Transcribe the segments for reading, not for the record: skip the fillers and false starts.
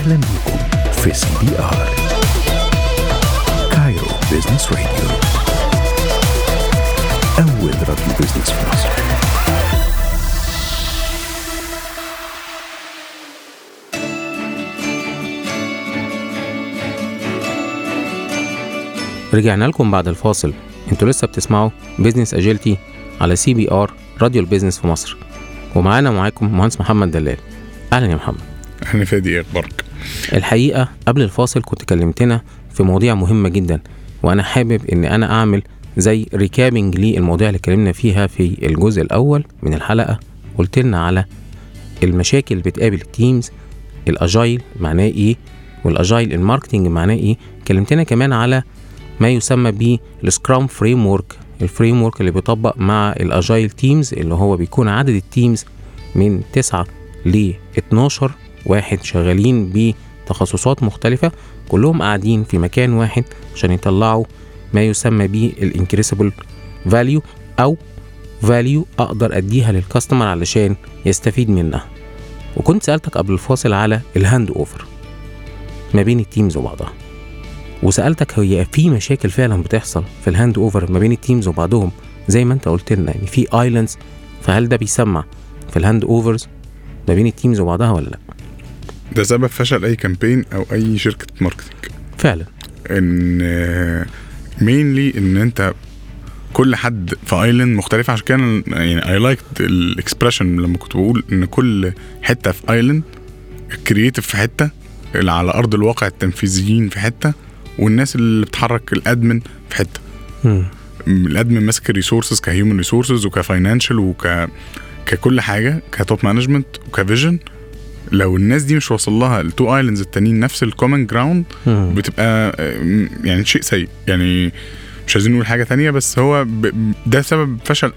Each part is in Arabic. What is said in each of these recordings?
أهلا بكم في CBR كايرو بيزنس راديو، أول راديو بيزنس في مصر. رجعنا لكم بعد الفاصل. انتوا لسه بتسمعوا بيزنس اجيلتي على CBR راديو البيزنس في مصر، ومعاكم مهندس محمد دلال. اهلا يا محمد. اهلا فادي، ايه اخبارك؟ الحقيقه قبل الفاصل كنت كلمتنا في مواضيع مهمه جدا، وانا حابب ان انا اعمل زي ريكابينج للمواضيع اللي اتكلمنا فيها في الجزء الاول من الحلقه. قلت لنا على المشاكل اللي بتقابل التيمز، الاجايل معناه ايه، والاجايل الماركتنج معناه ايه. كلمتنا كمان على ما يسمى بالسكرام فريمورك، الفريمورك اللي بيطبق مع الاجايل تيمز، اللي هو بيكون عدد التيمز من 9 ل 12 واحد شغالين بتخصصات مختلفة، كلهم قاعدين في مكان واحد عشان يطلعوا ما يسمى بالانكريسبل فاليو، او فاليو اقدر اديها للكاستمر علشان يستفيد منها. وكنت سألتك قبل الفاصل على الهاند اوفر ما بين التيمز وبعضها، وسألتك هي في مشاكل فعلا بتحصل في الهاند اوفر ما بين التيمز وبعضهم زي ما انت قلت لنا، يعني في ايلاندز، فهل ده بيسمع في الهاند اوفرز ما بين التيمز وبعضها ولا لا؟ ده سبب فشل اي كامبين او اي شركة ماركتنج فعلا، ان مينلي ان انت كل حد في ايلاند مختلف. عشان كده يعني اي لايك الاكسبريشن لما كنت بقول ان كل حتة في ايلاند، الكرييتيف في حتة، اللي على ارض الواقع التنفيذيين في حتة، والناس اللي بتحرك الادمن في حته. الادمن ماسك الريسورسز كهيومن ريسورسز وكفاينانشال ككل حاجه، كتوب مانجمنت وكفيجن. لو الناس دي مش وصل لها التو ايلاندز التانيين نفس الكومن جراوند، بتبقى يعني شيء سيء. يعني مش عايزين نقول حاجه تانية، بس هو ده سبب فشل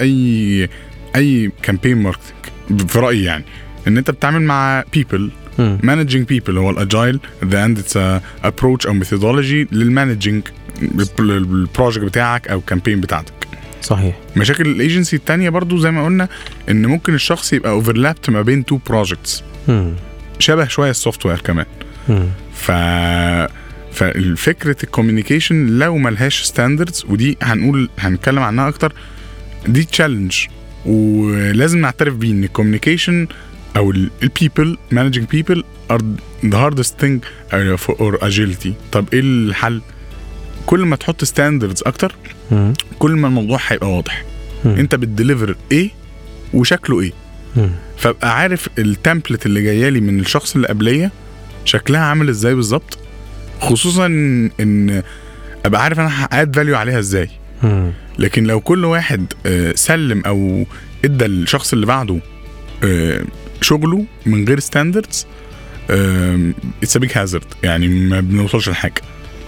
اي كامبين ماركتنج في رايي. يعني ان انت بتتعامل مع people managing people، هو الاجايل the end it's a approach او methodology للمانجينج البروجكت بتاعك او الكامبين بتاعتك. صحيح. مشاكل الايجنسي التانية برضو زي ما قلنا، ان ممكن الشخص يبقى اوفرلابت ما بين تو بروجكتس، شبه شويه السوفت وير كمان. فالفكره الكوميونيكيشن لو ملهاش ستاندردز، ودي هنتكلم عنها اكتر، دي تشالنج، ولازم نعترف بيه ان الكوميونيكيشن او البيبل managing people are the hardest thing for agility. طب ايه الحل؟ كل ما تحط ستاندردز اكتر، كل ما الموضوع هيبقى واضح. انت بتديليفر ايه وشكله ايه، فابقى عارف التمبلت اللي جايه لي من الشخص اللي قبليه شكلها عامل ازاي بالظبط، خصوصا ان ابقى عارف انا هاد فاليو عليها ازاي. لكن لو كل واحد سلم او ادى الشخص اللي بعده شغله من غير ستاندردز، it's a big hazard، يعني ما بنوصلش لحاجة.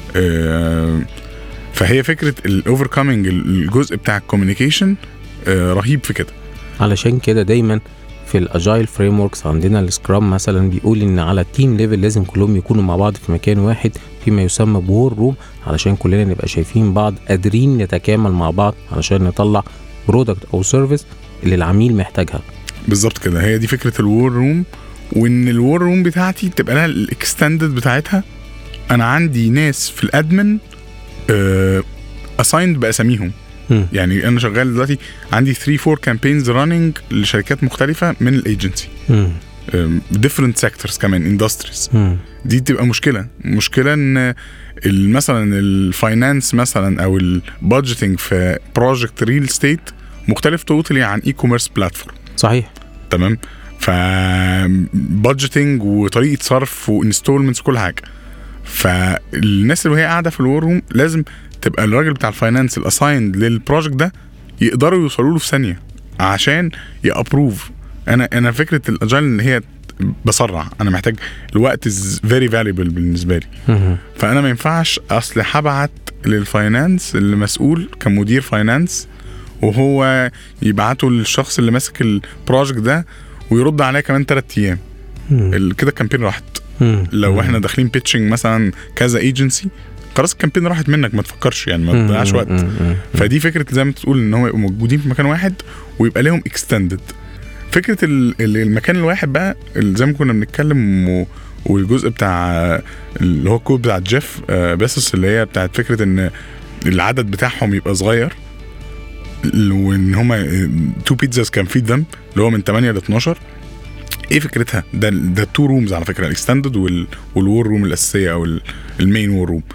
فهي فكرة الأوفركامينج الجزء بتاع الكوميونيكيشن رهيب في كده. علشان كده دايما في الأجايل فريموركس عندنا السكرام مثلا بيقول إن على التيم ليفل لازم كلهم يكونوا مع بعض في مكان واحد فيما يسمى بور روم، علشان كلنا نبقى شايفين بعض، قادرين نتكامل مع بعض علشان نطلع برودكت أو سيرفيس اللي العميل محتاجها. بالظبط كده، هي دي فكرة الوور روم. وإن الوور روم بتاعتي تبقى لها الإكستندد بتاعتها. أنا عندي ناس في الأدمن assigned بأساميهم. يعني أنا شغال دلوقتي عندي 3-4 campaigns running لشركات مختلفة من الأيجنسي، different sectors كمان industries. دي تبقى مشكلة إن مثلا الفاينانس مثلا أو البادجيتنج في project real estate مختلف توتالي عن e-commerce platform. صحيح. تمام. فبادجيتنج وطريقة صرف وانستولمنتس وكل حاجة. فالناس اللي هي قاعدة في الور روم لازم تبقى الراجل بتاع الفاينانس الاسايند للبروجكت ده يقدروا يوصلوا له في ثانية عشان يابروف. انا فكرة الاجايل ان هي بسرع، انا محتاج الوقت is very valuable بالنسبة لي. فانا ما ينفعش اصل هبعت للفاينانس اللي مسؤول كمدير فاينانس وهو يبعته للشخص اللي ماسك البروجكت ده ويرد عليه كمان 3 ايام. كده الكامبين راحت. لو احنا داخلين بيتشنج مثلا كذا ايجنسي، خلاص الكامبين راحت منك، ما تفكرش يعني، ما تضيعش وقت. فدي فكره زي ما تقول ان هو يبقوا موجودين في مكان واحد ويبقى لهم اكستندد. فكره المكان الواحد بقى زي ما كنا بنتكلم والجزء بتاع اللي هو الكود بتاع جيف بيسوس اللي هي بتاعت فكره ان العدد بتاعهم يبقى صغير وان هما 2 pizzas كان فيد ذم اللي هو من 8 ل 12. ايه فكرتها؟ ده 2 رومز على فكره، الاكستندد والور روم الاساسيه او المين وور روم.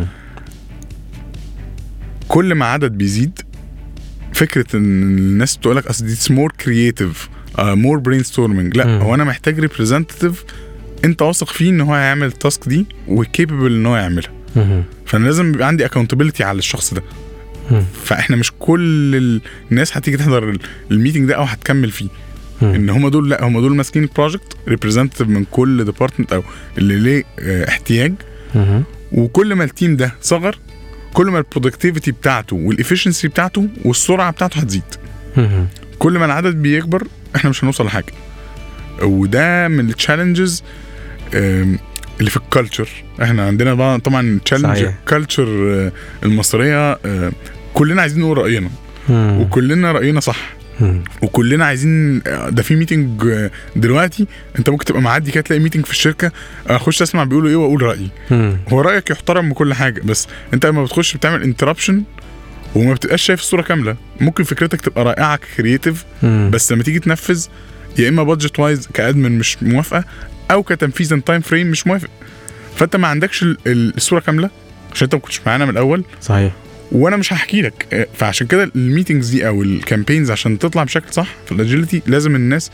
كل ما عدد بيزيد فكره ان الناس تقول لك اصل دي مور كرييتيف مور برين ستورمينج، لا هو انا محتاج ريبريزنتيف انت واثق فيه ان هو هيعمل التاسك دي وكيبل ان هو يعملها. فانا لازم يبقى عندي اكاونتابيلتي على الشخص ده. فاحنا مش كل الناس هتيجي تحضر الميتنج ده او هتكمل فيه. ان هم دول، لا هم دول ماسكين البروجكت ريبريزنتيف من كل ديبارتمنت او اللي ليه احتياج. وكل ما التيم ده صغر كل ما البرودكتيفيتي بتاعته والافيشنسي بتاعته والسرعه بتاعته هتزيد. كل ما العدد بيكبر احنا مش هنوصل لحاجه. وده من التشالنجز اللي في الكالتشر. احنا عندنا طبعا تشالنج الكالتشر المصريه، كلنا عايزين نقول راينا وكلنا راينا صح وكلنا عايزين. ده في ميتنج دلوقتي انت ممكن تبقى معدي كده تلاقي ميتنج في الشركه، اخش اسمع بيقولوا ايه واقول رايي. هو رايك يحترم بكل حاجه، بس انت لما بتخش بتعمل انتربشن وما بتبقاش شايف الصوره كامله. ممكن فكرتك تبقى رائعه كرييتيف، بس لما تيجي تنفذ يا اما بادجت وايز كادمن مش موافقه او كتنفيذ ان تايم فريم مش موافق. فانت ما عندكش الصوره كامله عشان انت ما كنتش معانا من الاول. صحيح. وانا مش هحكي لك. فعشان كده الميتنجز دي او الكامبينز عشان تطلع بشكل صح في الاجيلتي لازم الناس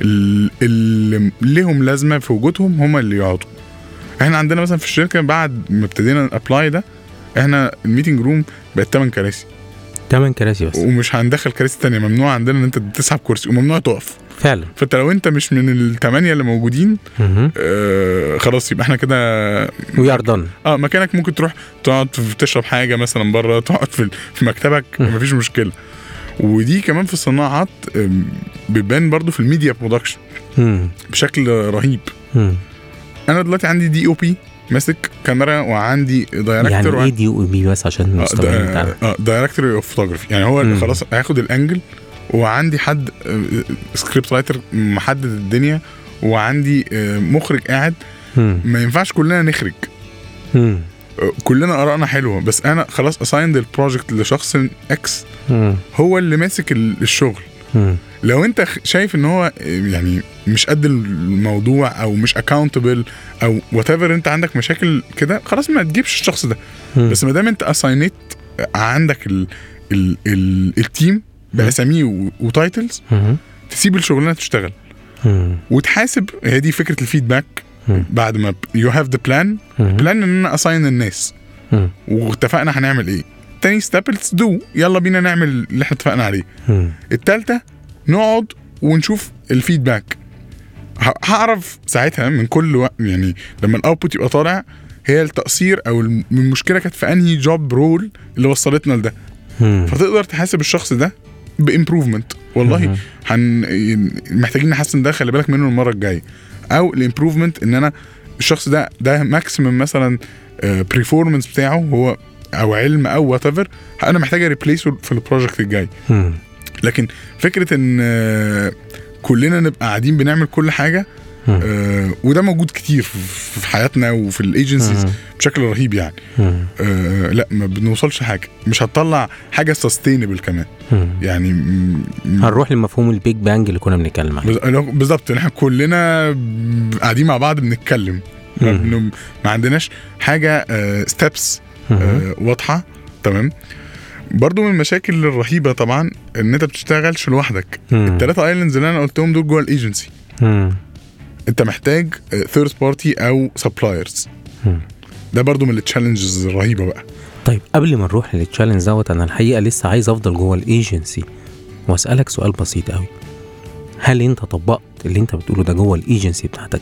اللي لهم لازمه في وجودهم هم اللي يقعدوا. احنا عندنا مثلا في الشركه بعد ما ابتدينا الابلاي ده احنا الميتنج روم بقت 8 كراسي. 8 كراسي بس، ومش هندخل كراسي تانية. ممنوع عندنا ان انت تسحب كرسي وممنوع تقف فعلا. فانت لو انت مش من ال8 اللي موجودين خلاص يبقى احنا كده وي ار دون. مكانك ممكن تروح تقعد تشرب حاجه مثلا بره، تقعد في مكتبك مفيش مشكله. ودي كمان في الصناعات بيبان برضو في الميديا برودكشن بشكل رهيب. انا دلوقتي عندي DOP ماسك كاميرا وعندي دايركتور. يعني ايه DOP بس عشان المستمعين بتاعنا؟ دايركتور اوف فوتوغرافي، يعني هو خلاص هياخد الانجل، وعندي حد سكريبت رايتر محدد الدنيا، وعندي مخرج قاعد. ما ينفعش كلنا نخرج. كلنا آرائنا حلوة، بس أنا خلاص أسايند البروجكت لشخص إكس هو اللي ماسك الشغل. لو أنت شايف إن هو يعني مش قد الموضوع أو مش accountable أو whatever، أنت عندك مشاكل كده، خلاص ما تجيبش الشخص ده. بس ما دام أنت أساينيت عندك التيم بأساميه وتايتلز، تسيب الشغلانة تشتغل وتحاسب. هي دي فكرة الفيدباك. بعد ما you have the plan ان انا assign الناس واتفقنا هنعمل ايه. تاني step let's do، يلا بينا نعمل اللي احنا اتفقنا عليه. التالتة نقعد ونشوف الفيدباك. هعرف ساعتها من كل يعني لما الاوتبوت يبقى طالع هي التقصير او المشكلة كانت في انهي جوب رول اللي وصلتنا لده. فتقدر تحاسب الشخص ده بإمبروفمنت. والله محتاجين نحسن ده، خلي بالك منه المرة الجاية. او الامبروفمنت ان انا الشخص ده ماكسيمم مثلا بريفورمانس بتاعه هو او علم او وات ايفر، انا محتاج اريبليسه في البروجكت الجاي. لكن فكره ان كلنا نبقى قاعدين بنعمل كل حاجه، وده موجود كتير في حياتنا وفي الايجنسيز بشكل رهيب يعني. لا ما بنوصلش حاجه، مش هتطلع حاجه سستينبل كمان. يعني هنروح لمفهوم البيج بانج اللي كنا بنتكلم عنه بالظبط. احنا كلنا قاعدين مع بعض بنتكلم، ما عندناش حاجه ستيبس واضحه. تمام. برضو من المشاكل الرهيبه طبعا ان انت بتشتغلش لوحدك. ال3 ايلاندز اللي انا قلتهم دول جوه الايجنسي، انت محتاج ثيرد بارتي او سبلايرز. ده برضو من التشالنجز الرهيبه بقى. طيب قبل ما نروح للتشالنج دوت، انا الحقيقه لسه عايز افضل جوه الايجنسي واسالك سؤال بسيط قوي. هل انت طبقت اللي انت بتقوله ده جوه الايجنسي بتاعتك؟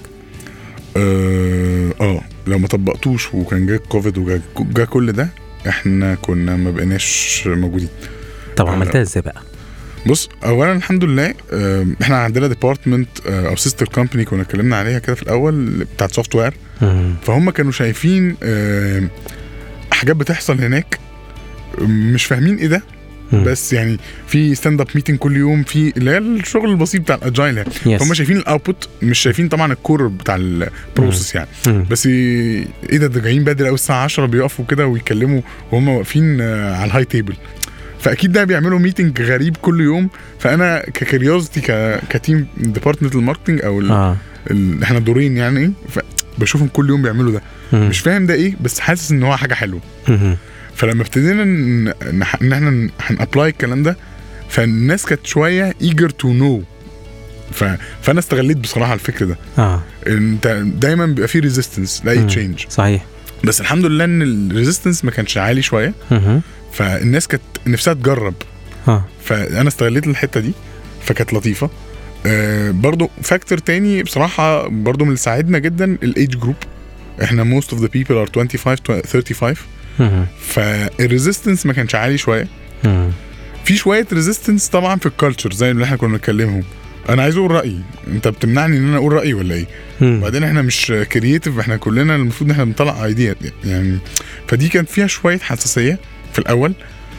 لو ما طبقتوش وكان جاء كوفيد وجاء كل ده، احنا كنا ما بقيناش موجودين. طب عملتها ازاي بقى؟ بص، اولا الحمد لله احنا عندنا ديبارتمنت او سيستر كومباني كنا اتكلمنا عليها كده في الاول بتاعت سوفت وير. فهم كانوا شايفين حاجات بتحصل هناك مش فاهمين ايه ده، بس يعني في ستاند اب ميتنج كل يوم، في اللي هي الشغل البسيط بتاع الاجايل يعني. هم شايفين الاوتبوت، مش شايفين طبعا الكور بتاع البروسيس يعني. بس ايه ده جايين بدري قوي الساعه 10 بيقفوا كده ويتكلموا وهم واقفين على الهاي تيبل، فاكيد ده بيعملوا ميتنج غريب كل يوم. فانا ككريوزتي كتيم ديبارتمنت الماركتنج او احنا دورين يعني، بشوفهم كل يوم بيعملوا ده. مش فاهم ده ايه، بس حاسس ان هو حاجه حلوه. فلما ابتدينا ان احنا هنابلاي الكلام ده، فالناس كانت شويه eager to know. فانا استغليت بصراحه الفكر ده. انت دايما بيبقى فيه ريزيستنس لاي تشينج، صحيح، بس الحمد لله ان الريزيستنس ما كانش عالي شويه. فالناس كانت نفسها تجرب. فانا استغليت الحته دي، فكانت لطيفه. برضو فاكتور تاني بصراحه برضو من اللي ساعدنا جدا الايج جروب. احنا most of the people are 25 to 35. فالريزيستنس ما كانش عالي شويه. في شويه ريزيستنس طبعا في الكالتشر زي اللي احنا كنا بنتكلمهم. انا عايز اقول رايي، انت بتمنعني ان انا اقول رايي ولا ايه؟ بعدين احنا مش كرييتيف، احنا كلنا المفروض ان احنا بنطلع ايديا يعني. فدي كانت فيها شويه حساسيه في الاول،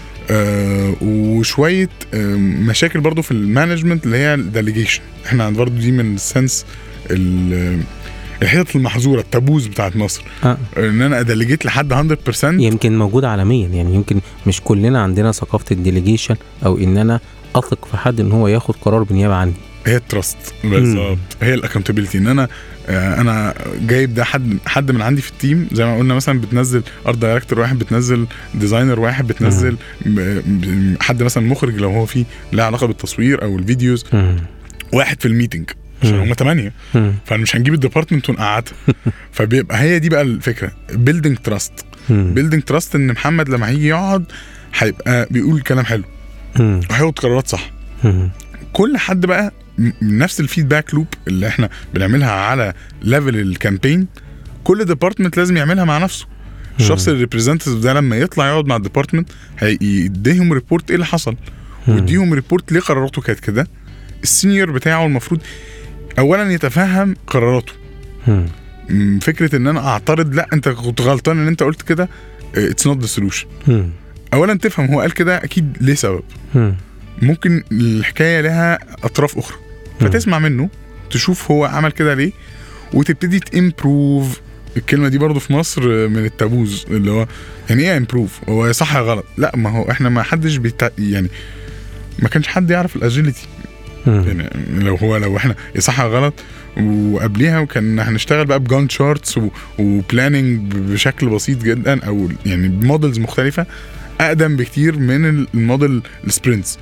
وشويه مشاكل برضو في المانجمنت اللي هي الديليجيشن. احنا عند برضو دي من السنس الحتة المحظورة، التابوز بتاعت مصر. ان انا اديليجيت لحد 100%. يمكن موجود عالميا يعني، يمكن مش كلنا عندنا ثقافة الديليجيشن او ان انا اثق في حد ان هو ياخد قرار بالنيابة عني. هي التراست بالظبط، هي الاكونتابيلتي. ان انا جايب ده حد من عندي في التيم، زي ما قلنا مثلا بتنزل ارت دايركتور واحد، بتنزل ديزاينر واحد، بتنزل حد مثلا مخرج لو هو فيه له علاقة بالتصوير او الفيديوز، واحد في الميتنج عشان هم 8. فمش هنجيب الديبارتمنت ونقعدها. فبيبقى هي دي بقى الفكره، بيلدينج تراست. بيلدينج تراست ان محمد لما هيجي يقعد هيبقى بيقول كلام حلو وهياخد قرارات صح. كل حد بقى نفس الفيدباك لوب اللي احنا بنعملها على ليفل الكامبين، كل ديبارتمنت لازم يعملها مع نفسه. الشخص الريبريزنتيف ده لما يطلع يقعد مع الديبارتمنت هيديهم ريبورت ايه اللي حصل، ويديهم ريبورت ليه قراراته كانت كده. السينيور بتاعه المفروض اولا يتفهم قراراته. فكره ان انا اعترض، لا انت كنت غلطان ان انت قلت كده، اتس نوت ذا سولوشن. اولا تفهم هو قال كده اكيد ليه سبب. ممكن الحكايه لها اطراف اخرى، فتسمع منه تشوف هو عمل كده ليه، وتبتدي تامبروف. الكلمه دي برضو في مصر من التابوز، اللي هو يعني ايه امبروف؟ هو صح يا غلط؟ لا، ما هو احنا ما حدش يعني ما كانش حد يعرف الاجيليتي يعني. لو احنا صح غلط، وقبليها وكان هنشتغل بقى بجان شارتس وبلاننج بشكل بسيط جدا، او يعني بمودلز مختلفه اقدم بكتير من الموديل السبرينتس.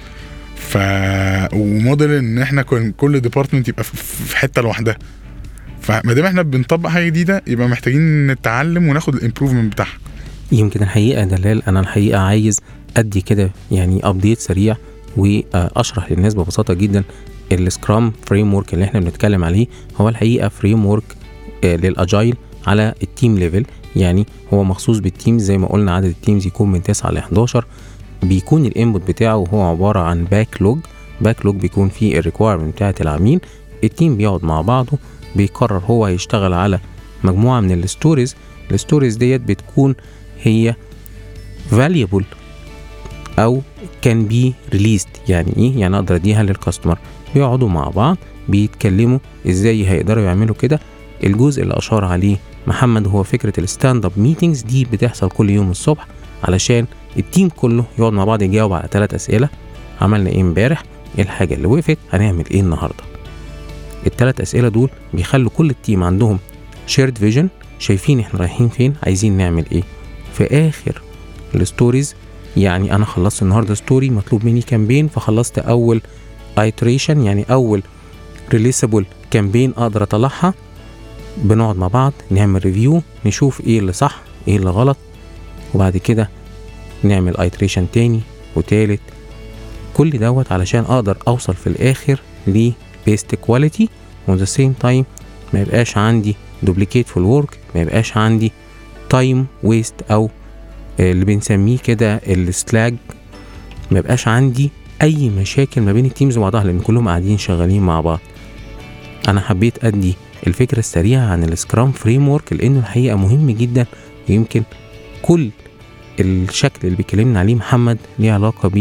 وموديل ان احنا كل ديبارتمنت يبقى في حته لوحدها. فما دام احنا بنطبق حاجه جديده، يبقى محتاجين نتعلم وناخد الامبروفمنت بتاعها. يمكن الحقيقه دلال، انا الحقيقه عايز ادي كده يعني ابديت سريع واشرح للناس ببساطه جدا. السكرام فريم ورك اللي احنا بنتكلم عليه هو الحقيقه فريم ورك للاجايل على التيم ليفل. يعني هو مخصوص بالتيم، زي ما قلنا عدد التيمز يكون من 9 ل 11. بيكون الانبوت بتاعه هو عباره عن باك لوج بيكون فيه الريكويرمنت بتاعه العميل. التيم بيقعد مع بعضه، بيقرر هو هيشتغل على مجموعه من الستوريز ديت بتكون هي valuable او كان بي ريليست. يعني ايه؟ يعني اقدر اديها للكاستمر. بيقعدوا مع بعض بيتكلموا ازاي هيقدروا يعملوا كده. الجزء اللي اشار عليه محمد هو فكره الستاند اب ميتينجز، دي بتحصل كل يوم الصبح علشان التيم كله يقعد مع بعض يجاوب على 3 اسئله. عملنا ايه امبارح؟ ايه الحاجه اللي وقفت؟ هنعمل ايه النهارده؟ ال3 اسئله دول بيخلوا كل التيم عندهم شيرد فيجن، شايفين احنا رايحين فين، عايزين نعمل ايه. في اخر الستوريز، يعني انا خلصت النهارده ستوري مطلوب مني كامبين، فخلصت اول ايتريشن يعني اول ريليسبل كامبين اقدر اطلعها. بنقعد مع بعض نعمل ريفيو، نشوف ايه اللي صح ايه اللي غلط، وبعد كده نعمل ايتريشن تاني وتالت. كل دوت علشان اقدر اوصل في الاخر لبيست كواليتي وat the same time ما يبقاش عندي دوبليكيت في الورك، ما يبقاش عندي تايم ويست او اللي بنسميه كده السلاج، ما يبقاش عندي اي مشاكل ما بين التيمز وبعضها، لان كلهم قاعدين شغالين مع بعض. انا حبيت ادي الفكره السريعه عن السكرام فريم ورك لانه الحقيقه مهم جدا، ويمكن كل الشكل اللي بيكلمنا عليه محمد ليه علاقه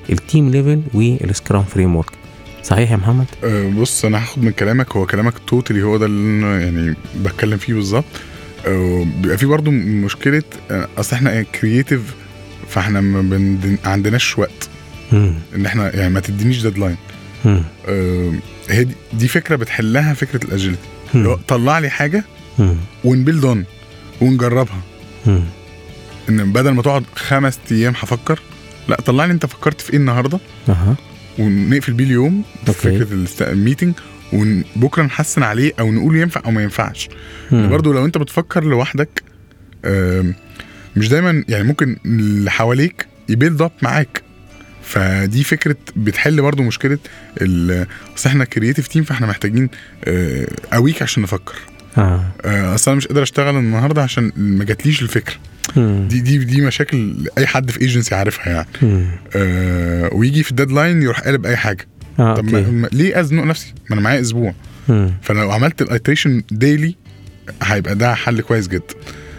التيم ليفل والسكرام فريم ورك. صحيح يا محمد؟ بص انا هاخد من كلامك، هو كلامك توتالي هو ده اللي أنا يعني بتكلم فيه بالظبط. بيبقى في برضو مشكله، اصل احنا كرييتيف، فاحنا ما عندناش وقت ان احنا يعني ما تدينيش ديدلاين. هي دي فكره بتحلها فكره الاجيلتي، طلع لي حاجه ونبيلد اون ونجربها. ان بدل ما تقعد 5 أيام هفكر، لا طلع لي انت فكرت في ايه النهارده ونقفل بيه اليوم فكره الميتنج، وبكره نحسن عليه او نقول ينفع او ما ينفعش. برضو لو انت بتفكر لوحدك مش دايما يعني ممكن اللي حواليك يبيلد اب معاك، فدي فكره بتحل برضو مشكله اصل احنا كرييتيف تيم، فاحنا محتاجين اويك عشان نفكر. اصلا مش قادر اشتغل النهارده عشان ما جاتليش الفكره. دي مشاكل اي حد في ايجنسي عارفها يعني. ويجي في الديدلاين يروح قالب اي حاجه. طب ليه ازنق نفسي؟ ما انا معايا اسبوع. فلو عملت الايتريشن ديلي هيبقى ده حل كويس جدا.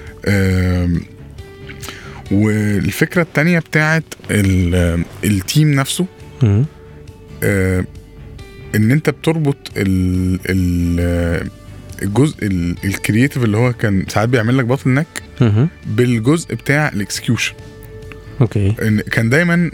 والفكره التانية بتاعت التيم نفسه، ان انت بتربط الجزء الكرييتيف اللي هو كان ساعات بيعمل لك باتل نك بالجزء بتاع الاكسكيوشن. اوكي، كان دايما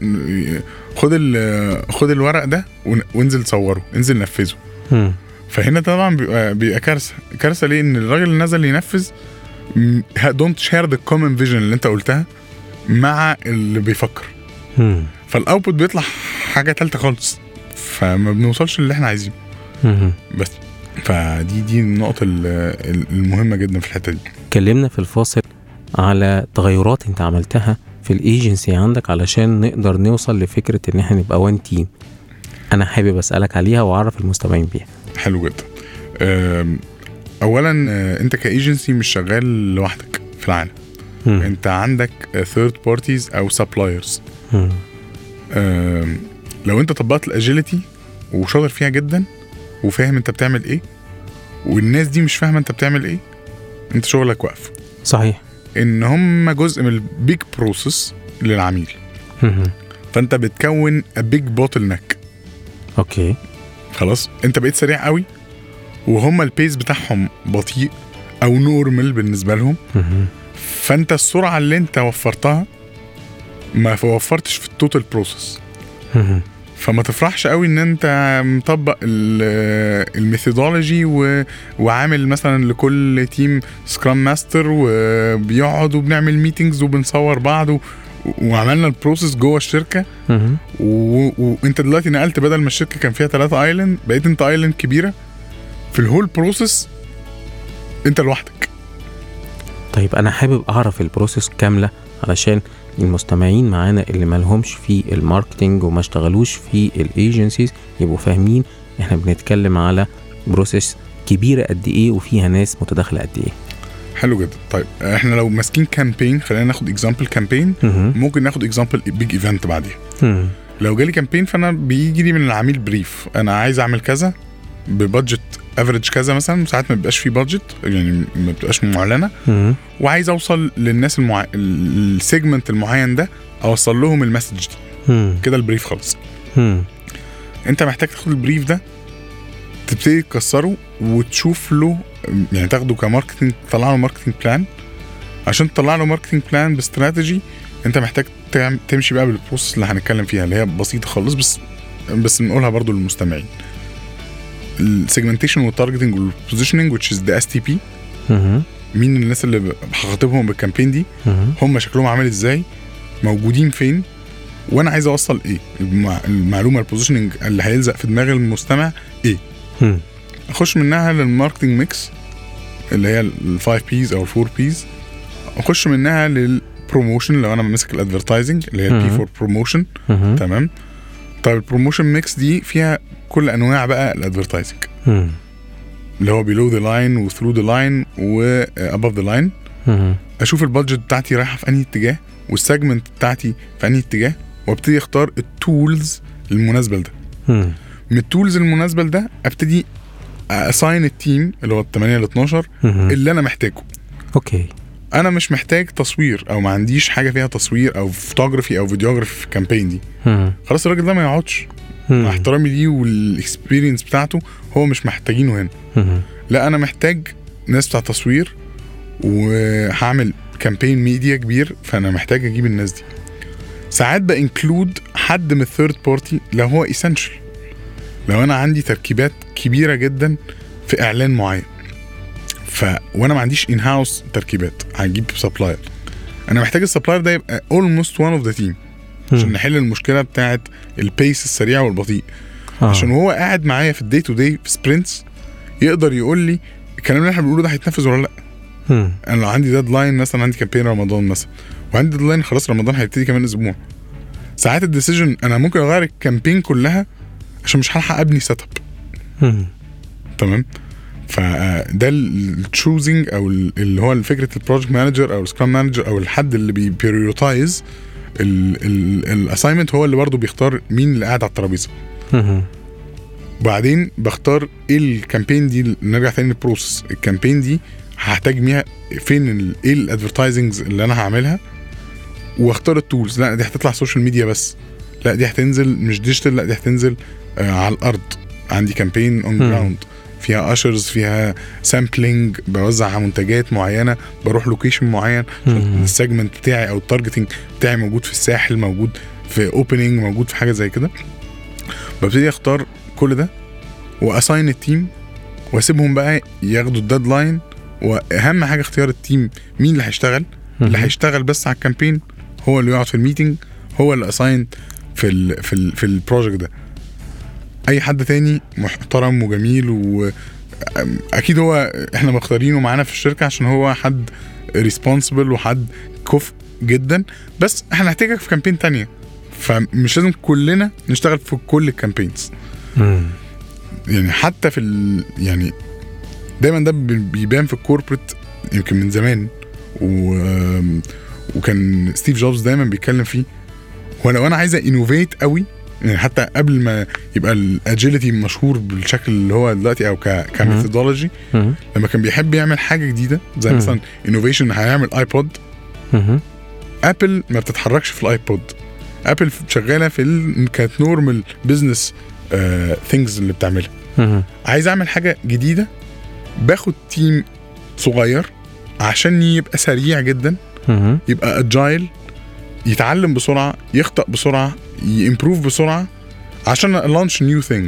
خد الورق ده وانزل صوره، انزل نفذه. فهنا طبعا بيبقى كارثه ليه؟ ان الراجل اللي نزل ينفذ don't share the common vision اللي انت قلتها مع اللي بيفكر. فالاوتبوت بيطلع حاجه ثالثه خالص، فما بنوصلش اللي احنا عايزينه. بس فدي النقطه المهمه جدا في الحته دي. اتكلمنا في الفاصل على تغيرات انت عملتها في الايجنسي عندك علشان نقدر نوصل لفكره ان احنا نبقى وان تيم. انا حابب اسالك عليها واعرف المستمعين بيها. حلو جدا. اولا انت كايجنسي مش شغال لوحدك في العالم. انت عندك ثيرد بارتيز او سبلايرز. لو انت طبقت الاجيلتي وشاطر فيها جدا وفاهم انت بتعمل ايه، والناس دي مش فاهمه انت بتعمل ايه، انت شغلك واقف. صحيح. ان هم جزء من البيج بروسس للعميل. فانت بتكون بيج بوتل نك. اوكي، خلاص انت بقيت سريع قوي وهم البيس بتاعهم بطيء او نورمال بالنسبه لهم. فانت السرعه اللي انت وفرتها ما وفرتش في التوتال بروسس. فما تفرحش قوي ان انت مطبق الميثودولوجي وعامل مثلا لكل تيم سكرام ماستر وبيقعد وبنعمل ميتينجز وبنصور بعض وعملنا البروسس جوه الشركه. وانت دلوقتي نقلت، بدل ما الشركه كان فيها 3 ايلاند بقيت انت ايلاند كبيره في الهول بروسس انت لوحدك. طيب انا حابب اعرف البروسس كامله علشان المستمعين معانا اللي مالهمش في الماركتينج وما اشتغلوش في الايجنسيز يبقوا فاهمين احنا بنتكلم على بروسس كبيره قد ايه وفيها ناس متداخله قد ايه. حلو جدا. طيب احنا لو ماسكين كامبين، خلينا ناخد اكزامبل كامبين، ممكن ناخد اكزامبل بيج ايفنت بعديها. لو جالي كامبين فانا بيجي لي من العميل بريف، انا عايز اعمل كذا ببادجت افريج كذا مثلا، ساعات ما بيبقاش فيه بادجت يعني ما بتبقاش معلنه، وعايز اوصل للناس السيجمنت المعين ده، اوصل لهم المسج دي. كده البريف خلص. انت محتاج تاخد البريف ده تبتدي تكسره وتشوف له يعني تاخده كماركتنج، تطلع له ماركتنج بلان. عشان تطلع له ماركتنج بلان باستراتيجي انت محتاج تمشي بقى بالبروسس اللي هنتكلم فيها اللي هي بسيطه خالص، بس نقولها برضو للمستمعين. السيجمنتيشن والتارجتنج والبوزيشننج which is the STP. مين الناس اللي هخاطبهم بالكامبين دي، هم شكلهم عامل ازاي، موجودين فين، وانا عايز اوصل ايه، المعلومه البوزيشننج اللي هيلزق في دماغ المستمع ايه. اخش منها للماركتنج ميكس اللي هي ال5 P's او ال4 P's. اخش منها للبروموشن لو انا ماسك الادفيرتايزنج اللي هي البي فور بروموشن. تمام. طيب البروموشن ميكس دي فيها كل انواع بقى الادفيرتايزنج اللي هو below the line و through the line و above the line. اشوف البادجت بتاعتي رايحه في انهي اتجاه والسيجمنت بتاعتي في انهي اتجاه، وابتدي اختار التولز المناسبه لده. من التولز المناسبه لده ابتدي اساين التيم اللي هو 8 ل 12 اللي انا محتاجه. اوكي. انا مش محتاج تصوير او ما عنديش حاجه فيها تصوير او فوتوغرافي او فيديوغرافي في الكامبين دي، خلاص الراجل ده ما يقعدش. مع احترامي ليه والاكسبيرينس بتاعته هو مش محتاجينه هنا. لا انا محتاج ناس بتاع تصوير وهعمل كامبين ميديا كبير، فانا محتاج اجيب الناس دي. ساعات بانكلود حد من الثيرد بارتي لو هو اسينشال، لو انا عندي تركيبات كبيره جدا في اعلان معين وانا ما عنديش ان هاوس تركيبات، هجيب سبلاير. انا محتاج السبلاير ده يبقى almost one of the team عشان نحل المشكله بتاعه البيس السريع والبطيء. عشان هو قاعد معايا في الدي تو دي في سبرنتس يقدر يقول لي الكلام اللي احنا بنقوله ده هيتنفذ ولا لا. انا لو عندي ديدلاين مثلا، عندي كامبين رمضان مثلا وعندي ديدلاين خلاص رمضان هيبتدي كمان اسبوع، ساعات الديسيجن انا ممكن اغير الكامبين كلها عشان مش هلحق ابني سيت اب. تمام. فده التشوزنج او اللي هو فكره البروجكت مانجر او السكرام مانجر او الحد اللي بيبريورتايز الاساينمنت، هو اللي برضو بيختار مين اللي قاعد على الترابيزه. وبعدين بختار ايه الكامبين دي. نرجع تاني للبروسس، الكامبين دي هحتاج ميها فين، ايه الادفرتايزنجز اللي انا هعملها، واختار التولز. لا دي هتطلع سوشيال ميديا بس، لا دي هتنزل مش ديجيتال، لا دي هتنزل على الارض. عندي كامبين اون جراوند فيها اشرز، فيها سامبلينج، بوزع منتجات معينه، بروح لوكيشن معين عشان السيجمنت بتاعي او التارجتنج بتاعي موجود في الساحل، موجود في اوبننج، موجود في حاجه زي كده. ببتدي اختار كل ده واساين التيم واسيبهم بقى ياخدوا الديدلاين. واهم حاجه اختيار التيم، مين اللي هيشتغل. اللي هيشتغل بس على الكامبين هو اللي يقعد في الميتنج، هو اللي اساين في البروجكت ده. اي حد تاني محترم وجميل واكيد هو احنا مختارينه معانا في الشركه عشان هو حد ريسبونسبل وحد كفء جدا، بس احنا هنحتاجك في كامبين تانية، فمش لازم كلنا نشتغل في كل الكامبينز. يعني حتى في يعني دايما ده بيبان في الكوربريت يمكن من زمان، وكان ستيف جوبز دايما بيتكلم فيه. ولو انا عايزه انوفيت قوي، يعني حتى قبل ما يبقى الاجيليتي مشهور بالشكل اللي هو دلوقتي او كميثودولوجي، لما كان بيحب يعمل حاجه جديده زي مثلا انوفيشن، هيعمل ايبود. ابل ما بتتحركش في الايبود، ابل شغاله في كانت نورمال بزنس ثينجز اللي بتعملها. عايز اعمل حاجه جديده، باخد تيم صغير عشان يبقى سريع جدا، يبقى اجايل، يتعلم بسرعه، يخطأ بسرعه، يمبروف بسرعه عشان لانش نيو ثينج.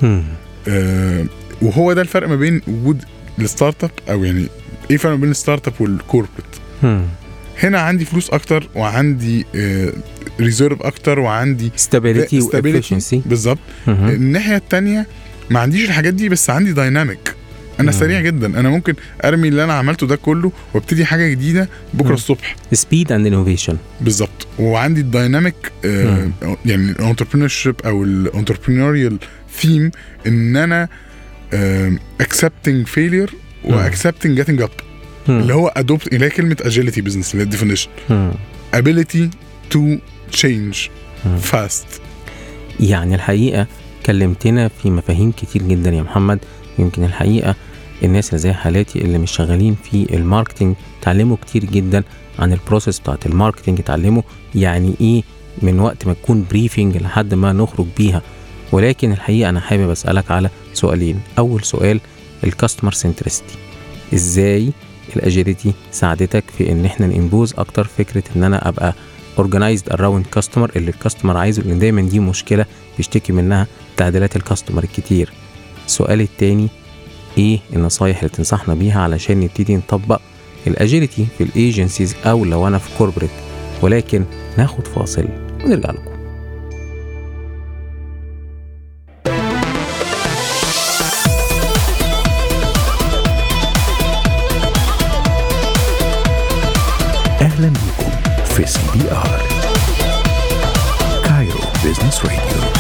وهو ده الفرق ما بين وجود الستارت اب، او يعني ايه الفرق ما بين الستارت اب والكوربريت. هنا عندي فلوس اكتر، وعندي ريزيرف اكتر، وعندي ستابيليتي وافيشنسي. بالظبط. الناحيه الثانيه ما عنديش الحاجات دي، بس عندي دايناميك. انا سريع جدا، انا ممكن ارمي اللي انا عملته ده كله وابتدي حاجه جديده بكره الصبح. سبيد اند انوفيشن. بالظبط. وعندي الدايناميك يعني الانتربرينورشيب او الانتربرينوريال ثيم، ان انا accepting failure و accepting getting up، اللي هو adopt، اللي هي كلمه agility business اللي هي definition. ability to change fast. يعني الحقيقه كلمتنا في مفاهيم كتير جدا يا محمد. يمكن الحقيقة الناس اللي زي حالاتي اللي مش شغالين في الماركتينج تعلموا كتير جدا عن البروسيس بتاعت الماركتينج، تعلموا يعني ايه من وقت ما تكون بريفينج لحد ما نخرج بيها. ولكن الحقيقة انا حابب اسألك على سؤالين. اول سؤال، الكاستمر سنترستي، ازاي الاجيليتي ساعدتك في ان احنا ننبوز اكتر فكرة ان انا ابقى organized around customer اللي الكاستمر عايزه، لان دايما دي مشكلة بيشتكي منها تعديلات الكاستمر الكتير. السؤال التاني، ايه النصايح اللي تنصحنا بيها علشان نبتدي نطبق الاجيليتي في الايجنسيز او لو انا في كوربريت؟ ولكن ناخد فاصل ونرجع لكم. اهلا بكم في CBR كايرو بيزنس راديو.